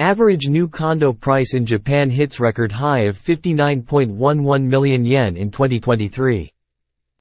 Average new condo price in Japan hits record high of 59.11 million yen in 2023.